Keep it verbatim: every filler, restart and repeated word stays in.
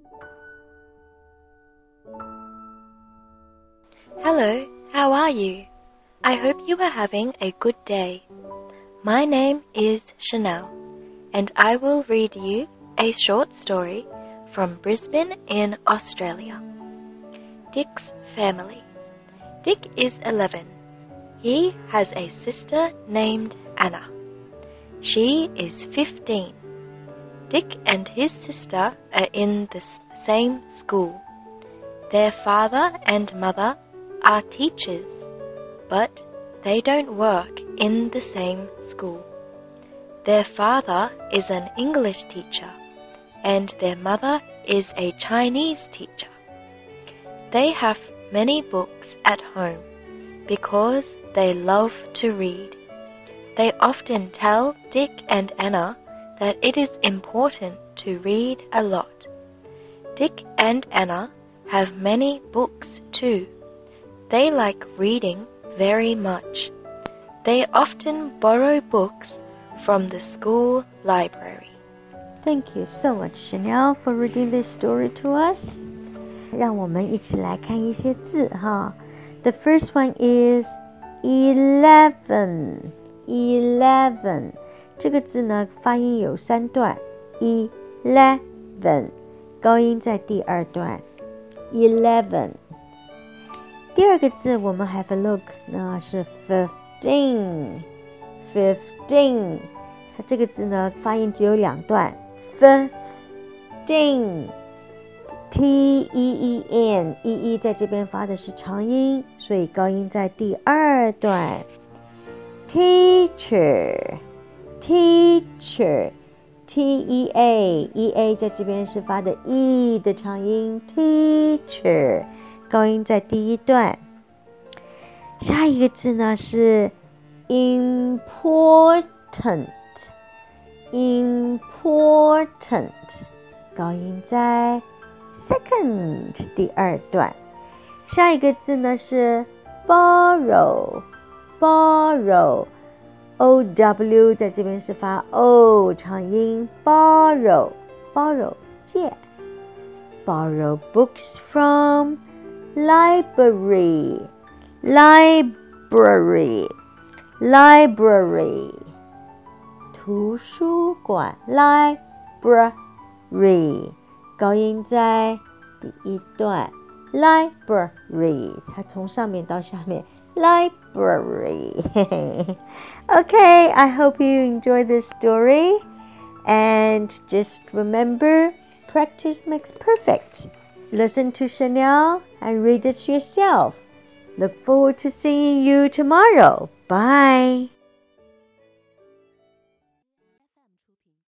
Hello, how are you? I hope you are having a good day. My name is Chanel, and I will read you a short story from Brisbane in Australia. Dick's family. Dick is eleven. He has a sister named Anna. She is fifteen. Dick and his sister are in the same school. Their father and mother are teachers, but they don't work in the same school. Their father is an English teacher, and their mother is a Chinese teacher. They have many books at home because they love to read. They often tell Dick and Anna that it is important to read a lot. Dick and Anna have many books too. They like reading very much. They often borrow books from the school library. Thank you so much, Chanel, for reading this story to us. 让我们一起来看一些字哈。The first one is eleven. Eleven. 这个字呢，发音有三段。eleven. 高音在第二段。eleven. 第二个字我们 have a look 呢是 fifteen. fifteen. 它这个字呢发音只有两段 fifteen. T E E N E E 在这边发的是长音，所以高音在第二段。Teacher Teacher T E A E A 在这边是发的 E 的长音 Teacher， 高音在第一段。下一个字呢是 Important Important， 高音在 Second 第二段。下一个字呢是 Borrow Borrow O W 在这边是发 O 长音 Borrow Borrow 借 Borrow books from library Library Library 图书馆 Library 高音在第一段 Library 它从上面到下面 Library Okay, I hope you enjoy this story and just remember practice makes perfect. Listen to Chanel and read it yourself. Look forward to seeing you tomorrow. Bye.